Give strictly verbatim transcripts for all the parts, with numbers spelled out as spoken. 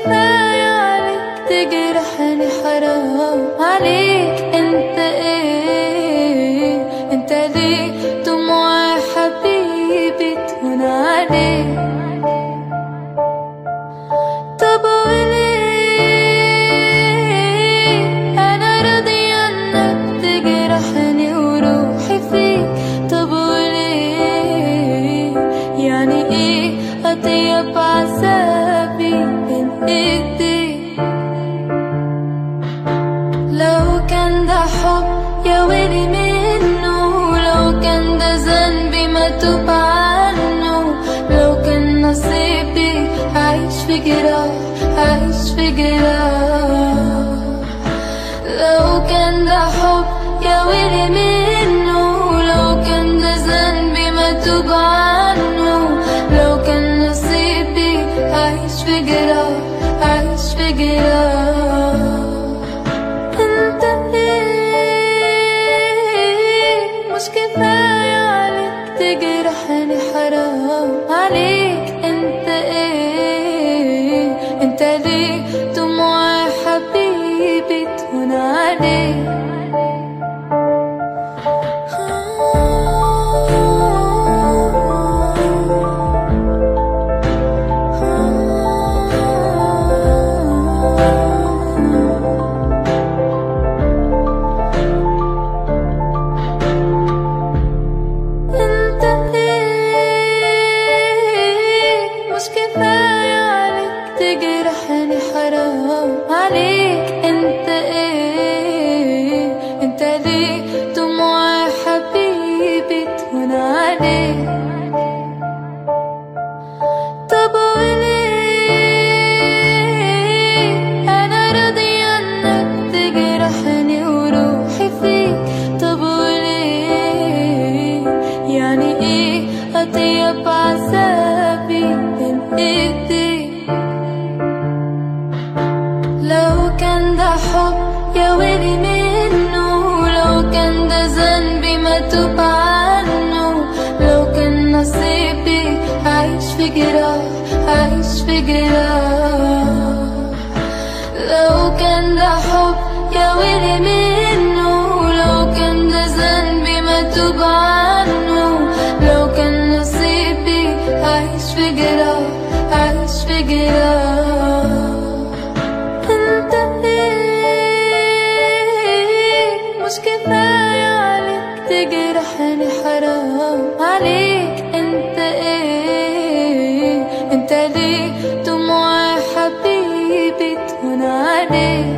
كفاية عليك تجرحني، حرام عليك. انت ايه انت ليه دموع حبيبي تهون عليك؟ طب وليه انا راضية انك تجرحني وروحي فيك؟ طب وليه يعني ايه اطيب عذابي بين ايديك؟ لو كان ده حب يا ويلي منه، لو كان ده ذنبي ما توب عنه، لو كان نصيبي عايش في جراح عايش في جراح. لو كان ده حب يا ويلي منه، لو كان ده ذنبي ما توب عنه، لو كان نصيبي عايش في جراح عايش في جراح. انت ايه مش كفاية عليك تجرحني، حرام عليك. انت ايه انت ليه دموع حبيبي تهون عليك؟ حرام عليك. انت ايه انت ليه دموع حبيبي تهون عليك؟ طب وليه انا راضية انك تجرحني وروحي فيك؟ طب وليه يعني ايه اطيب عذابي بين ايديك؟ لو كان ده حب يا ويلي منه، لو كان ده ذنبي ما توب عنه، لو كان نصيبي عايش في جراح عايش في جراح. لو كان ده حب يا ويلي منه، لو كان ده ذنبي ما توب عنه، لو كان نصيبي عايش في جراح عايش في جراح. انت ايه مش كفاية عليك تجرحني، حرام عليك. انت ايه انت ليه دموع حبيبي تهون عليك؟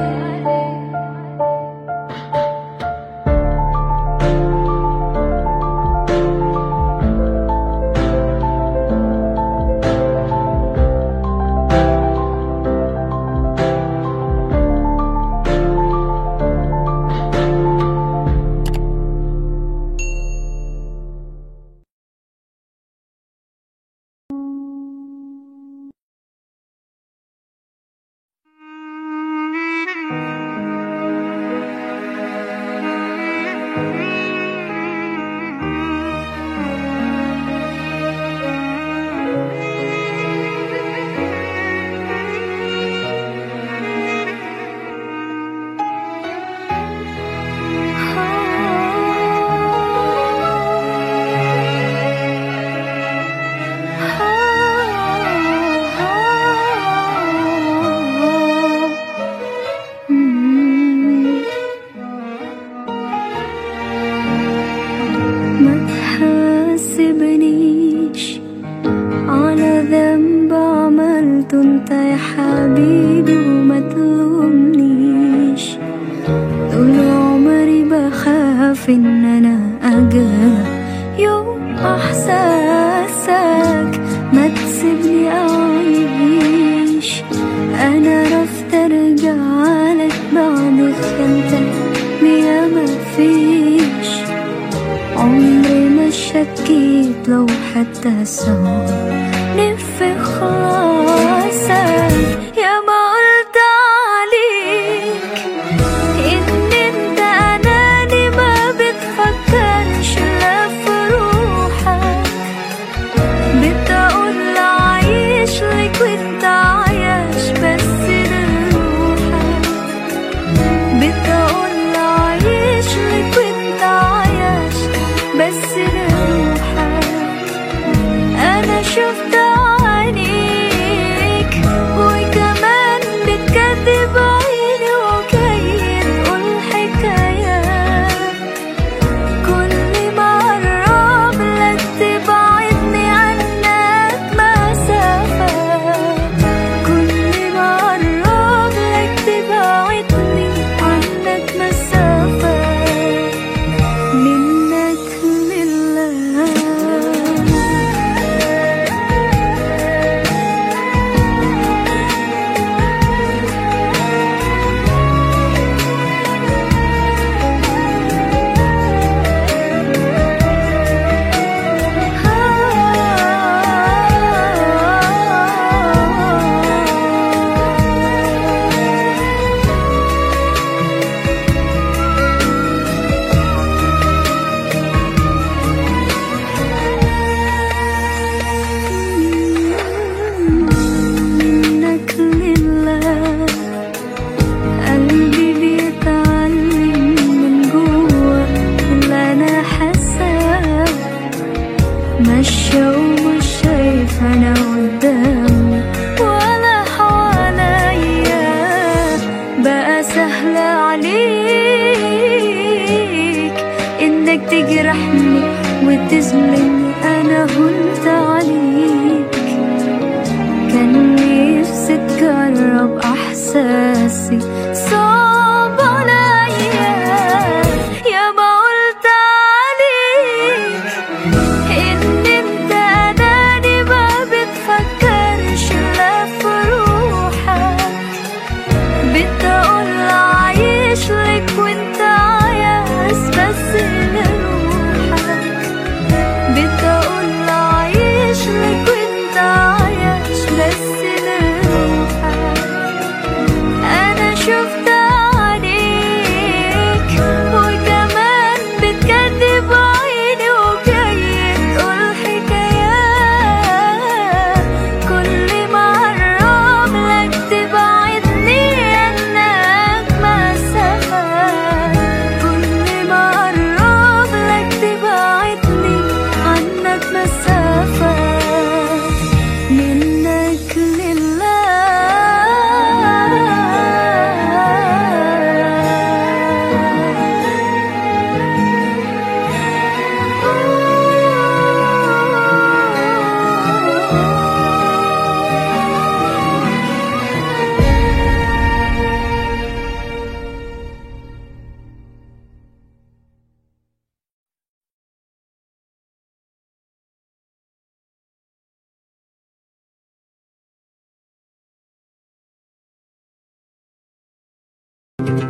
بتقول عايش لك وانت عايش بس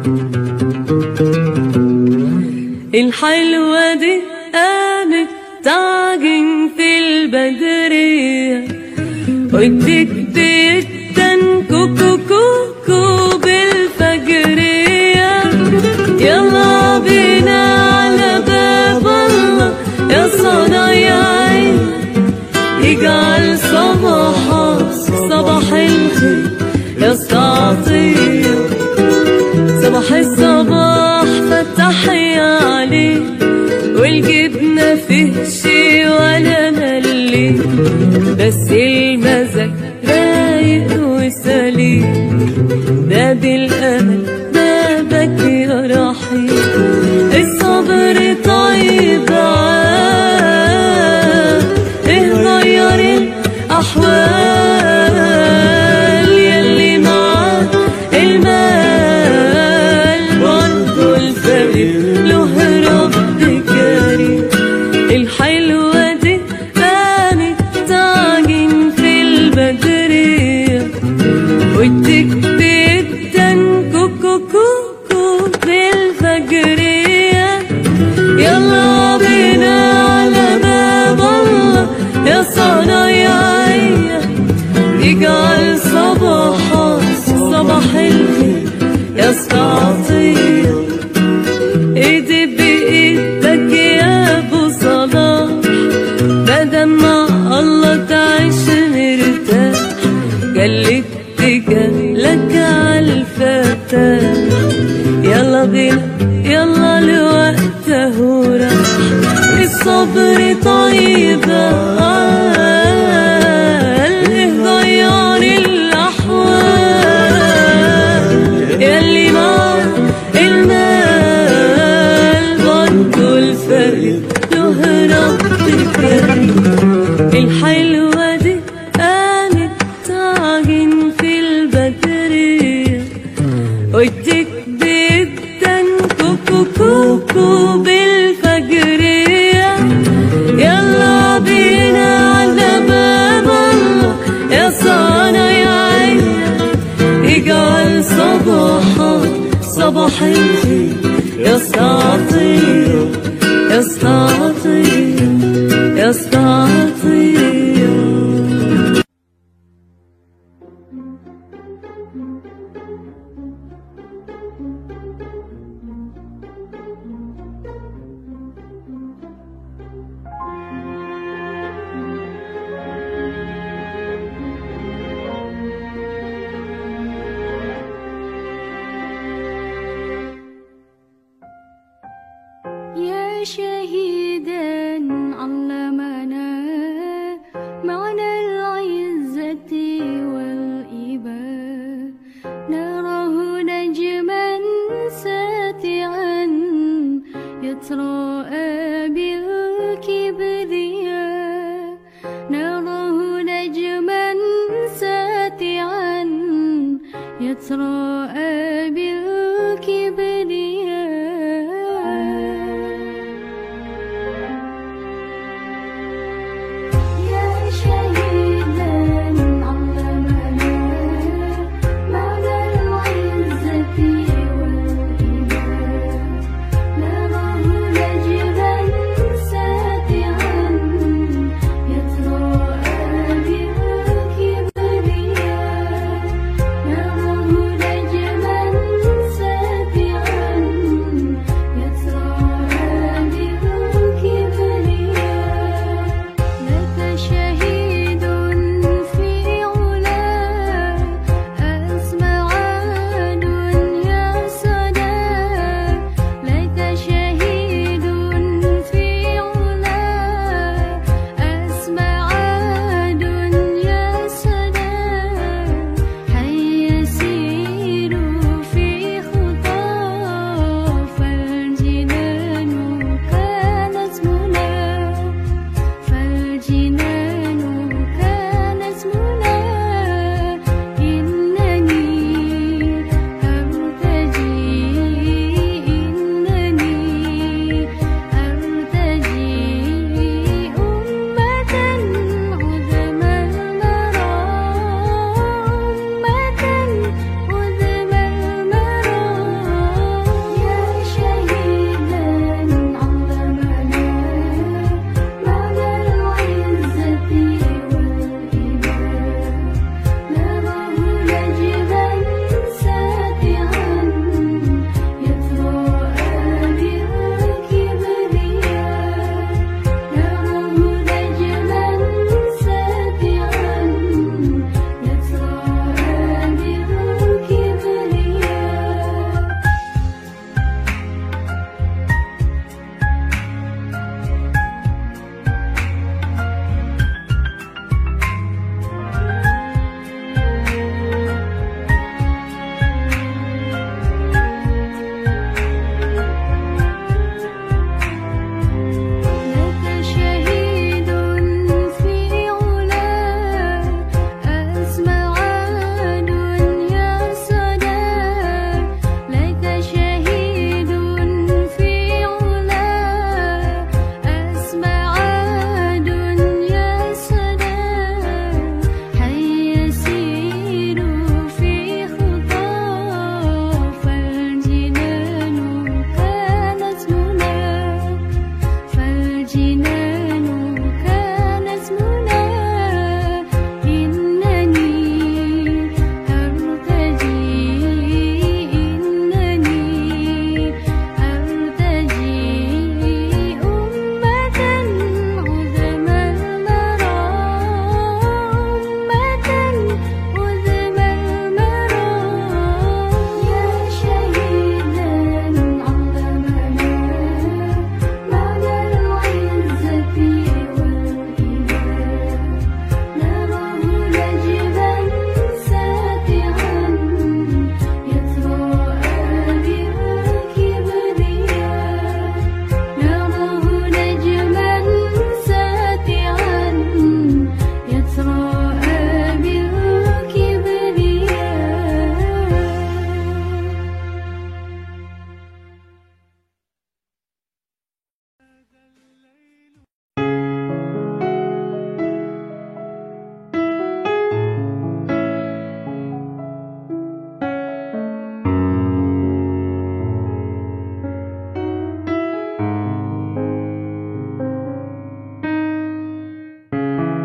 الحلوة دي قامت تعجن في البدرية وديك جدا كوكو كوكو بالفجرية. يلا بينا على باب الله يا صنايعي يجعل صباحك صباح الخير يا استعطية. صباح الصباح فتحي عليه والجبنة فيه شي ولا ملي بس المزاج رايق وسليم. باب الأمل بابك يا رحيم الصبر طيب عاد ايه غير الأحوال يلي معاه المال برضو الفقير له رب كريم. الحلوة دي قامت تعجن في البدرية وديك جدا كوكو كوكو بالفجرية. يلا بينا على باب الله يا صنايعي يجعل صباحك صباح الخير يا استعطية. ايدي بايدك يا ابو صلاح بدل ما الله تعيش مرتاح قلت لك عالفتاح. يلا بينا يلا لوقته راح الصبر طيب قال ايه غير الأحوال يلي معاه المال برضو الفقير له رب كريم. الحلوة دي قامت تعجن في البدرية وديك جدا كوكو كوكو بالفجرية. يلا بينا على باب الله يا صنايعي يجعل صباحك صباح الخير يا استعطية يا استعطية يا استعطية. يا شهيدا علمنا معنى العزة والإباء نراه نجما ساتعا يتراءى بالكبرياء. نراه نجما ساتعا يتراءى بالكبرياء. نجما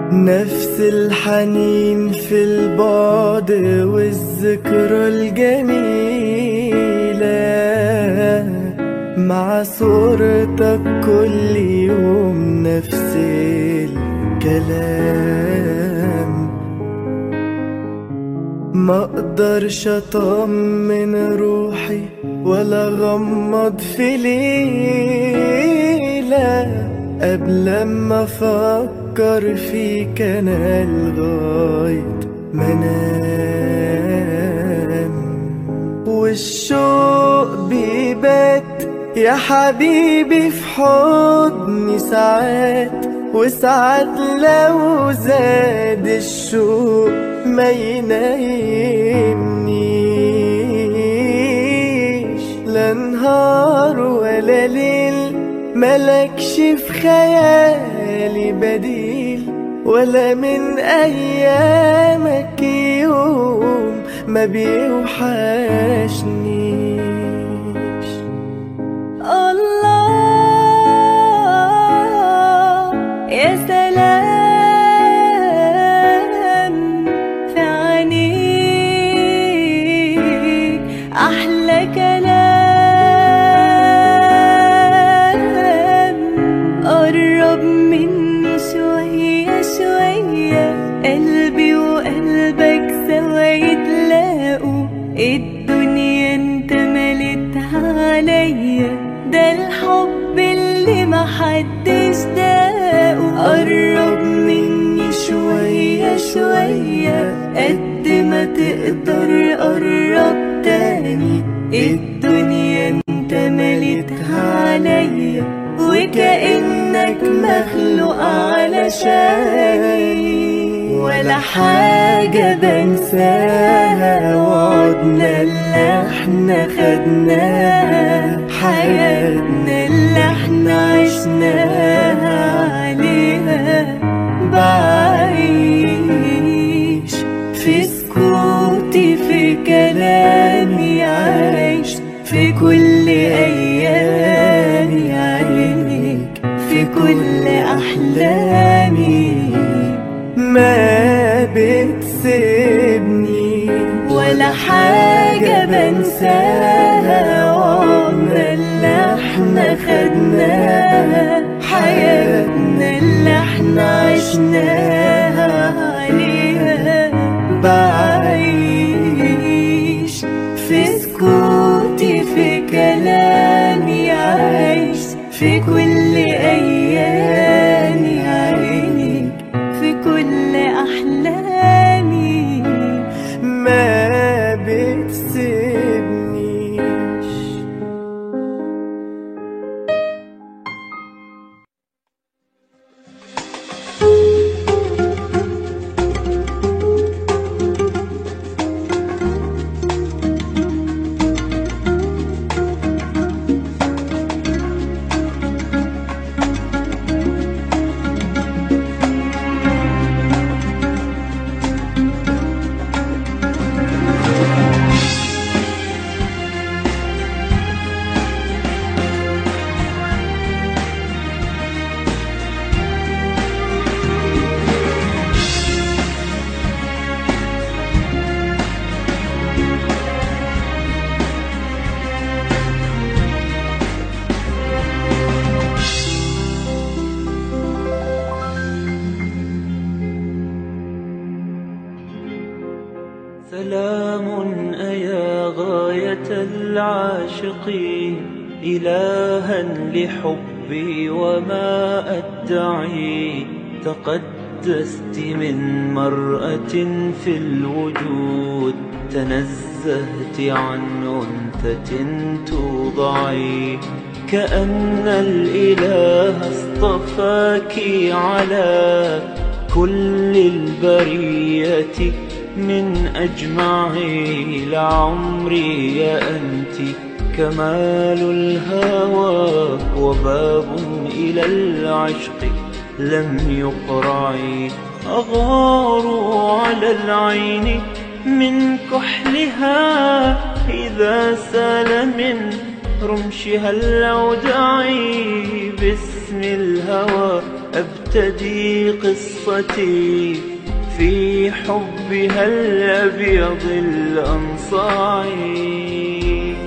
نفس الحنين في البعد والذكرى الجميلة، مع صورتك كل يوم نفس الكلام. ما اقدرش اطمن روحي ولا غمض في ليلة قبل ما افكر فيك انا لغاية ما انام. والشوق بيبات يا حبيبي في حضني ساعات، وساعات لو زاد الشوق ما ينايمنيش. لا نهار ولا ليل ملكش في خيالي بديل، ولا من أيامك يوم ما بيوحشنيش. الله يا سلام في عينيك، أحلى كلام. قرب مني شوية شوية، قلبي وقلبك سوا يتلاقوا. الدنيا انت ملتها عليا، ده الحب اللي محدش داقه. قرب مني شوية شوية، قد ما تقدر قرب تاني. الدنيا انت ملتها عليا، وكأنك مخلوق علشاني. ولا حاجة بنساها، وعدنا اللي احنا خدناها، حياتنا اللي احنا عشناها عليها. بعيش في سكوتي في كلامي، عايش في كل أيامي عينيك، في كل أحلامي. ما بتسيبني ولا حاجة بنساها، وعمرنا اللي احنا خدناها، حياتنا اللي احنا عشناها عليها. بعيش في سكوتي في كلامي، عايش في كل أيامي عينيك، في كل أحلامي. ما بتسيبنيش. سلام أيا غاية العاشقين، إلها لحبي وما أدعي. تقدست من مرأة في الوجود، تنزهت عن أنثى توضعي. كأن الإله اصطفاك على كل البرية من أجمعي. لعمري يا أنت كمال الهوى، وباب إلى العشق لم يقرعي. أغار على العين من كحلها، إذا سال من رمشها الأودعي. باسم الهوى أبتدي قصتي في حبها الأبيض الأنصاعي.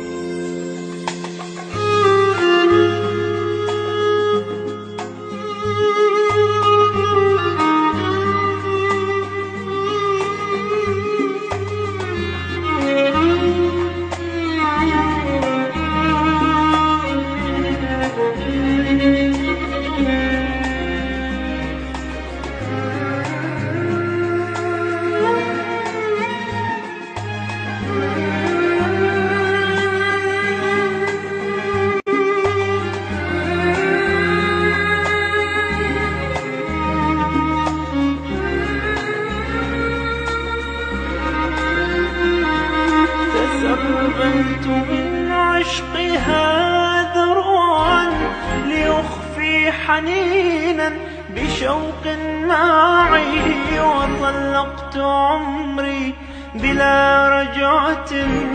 تسربلت من عشقها ذروعا ليخفي حنينا بشوق معي، وطلقت عمري بلا رجعة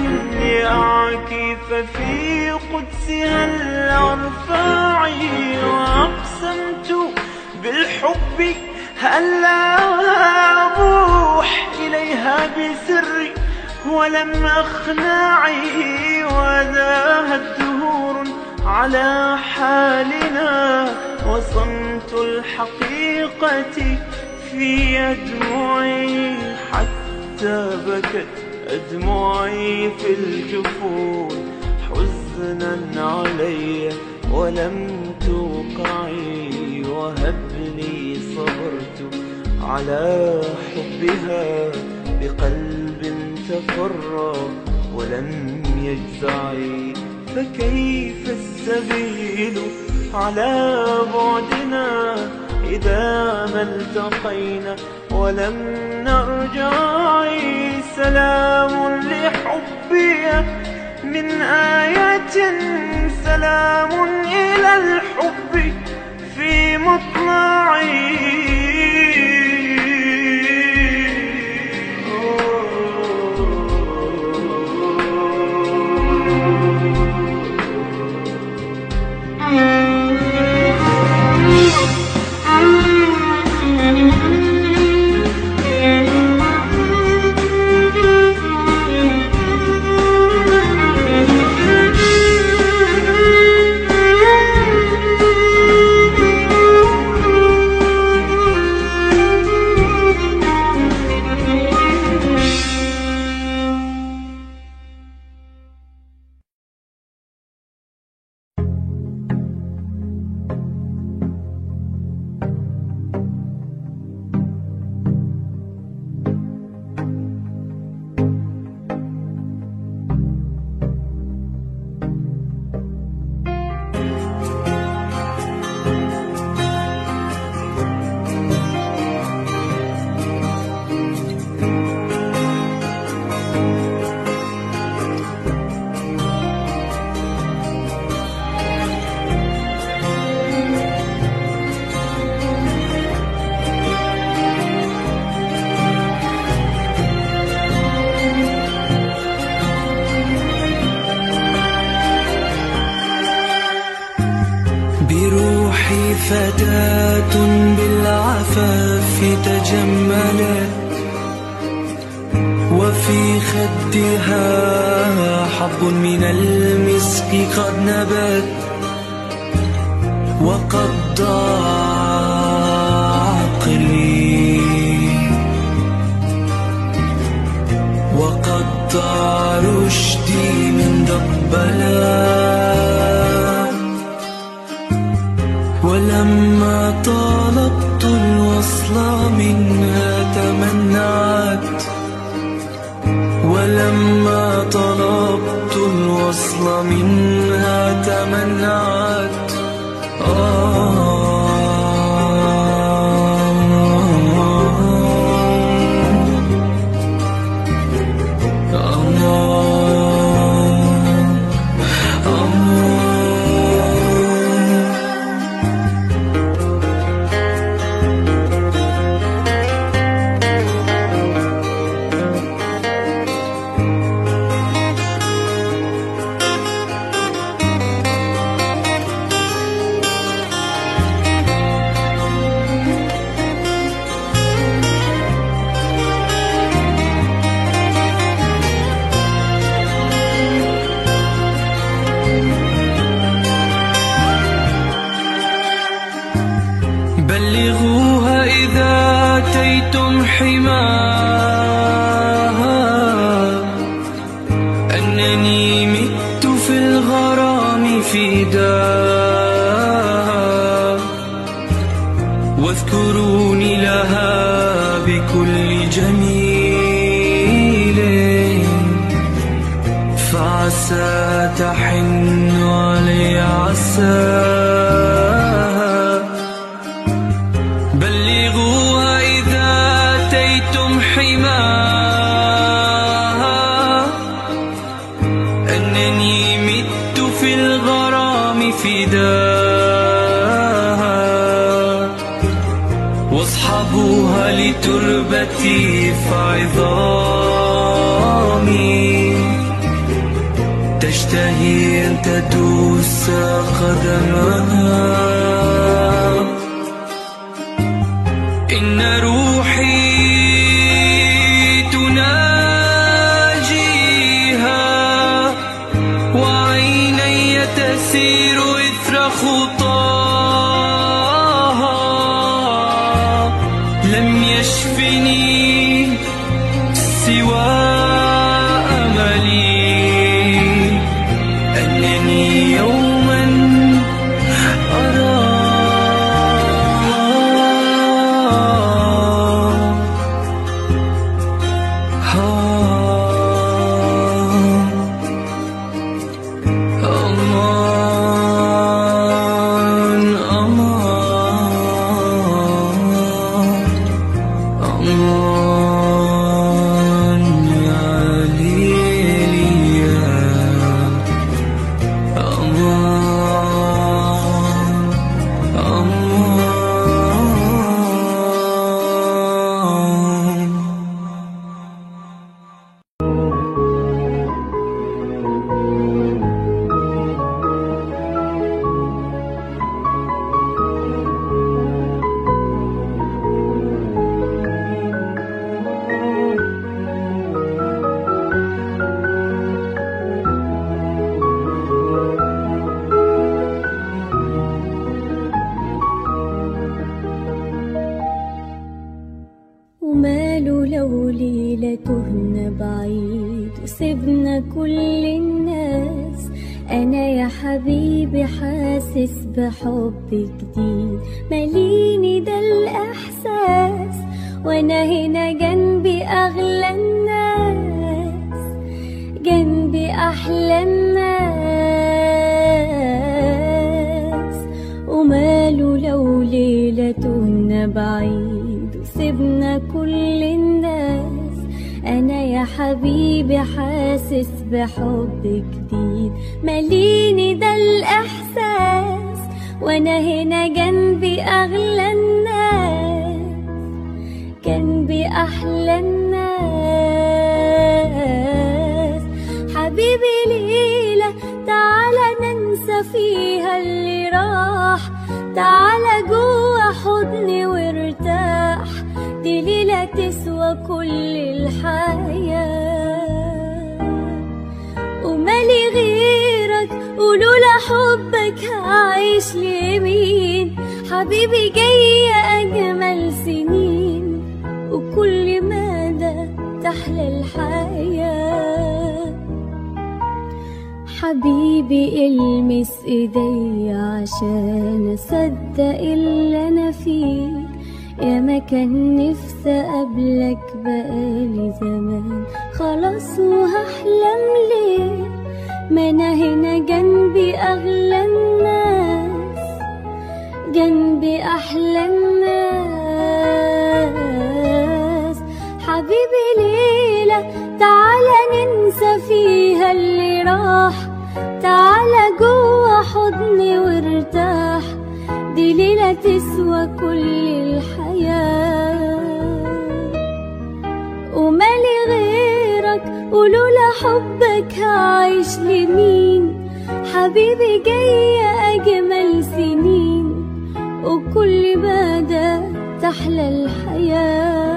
لأعكف في قدسها الأرفاع، وأقسمت بالحب ألا أبوح إليها بسري ولم أخنعي، وذاهت دهور على حالنا وصمت الحقيقة في أدمعي، حتى بكت أدمعي في الجفون حزنا علي ولم توقعي، وهبني صبرت على حبها بقلب تفرى ولم يجزعي، فكيف السبيل على بعدنا إذا ما التقينا ولم نرجع. سلام لحبي من آية، سلام إلى الحب في مطلعي. بروحي فتاة بالعفاف تجملت، وفي خدها حب من المسك قد نبت، وقد ضاع عقلي وقد ضاع رشدي من ضبلات، ولما طلبت الوصل منها تمنعت، ولما طلبت الوصل منها تمنعت. آه حماها، أنني مت في الغرام فداها، واذكروني لها بكل جميل، فعسى تحن علي عساها. بلغوها إذا أتيتم حماها، أنني مت في الغرام فداها، واصحبوها لتربتي فعظامي تشتهي أن تدوس قدمها. إن روحي تناجيها، وعيني تسير إثر خطاها. لم يشفني سوى أملي، أنني يوما أراها. أمان أمان أمان يا ليليا، أمان أمان. وماله لو ليلة تهنا بعيد وسيبنا كل الناس، أنا يا حبيبي حاسس بحب جديد ماليني ده الإحساس، وأنا هنا جنبي أغلى الناس، جنبي أحلى الناس. وماله لو ليلة تهنا بعيد وسيبنا كل الناس، أنا يا حبيبي حاسس بحب جديد ماليني ده الإحساس، وأنا هنا جنبي أغلى الناس، جنبي أحلى الناس. حبيبي ليلة تعالى ننسى فيها اللي راح، تعالى جوا حضني وارتاح، دي ليلة تسوى كل الحياة. ومالي غيرك ولولا حبك هعيش لمين، حبيبي جاية أجمل سنين، وكل مدى تحلى الحياة. حبيبي المس ايدي عشان اصدق اللي انا فيه، يا ما كان نفسي اقابلك بقالي زمان، خلاص وهحلم ليه، ما انا هنا جنبي اغلى الناس، جنبي احلى الناس. حبيبي ليلة تعالى ننسى فيها اللي راح، تعالى جوا حضني وارتاح، دي ليلة تسوى كل الحياة. ومالي غيرك ولولا حبك هعيش لمين، حبيبي جاية أجمل سنين، وكل مدى تحلى الحياة.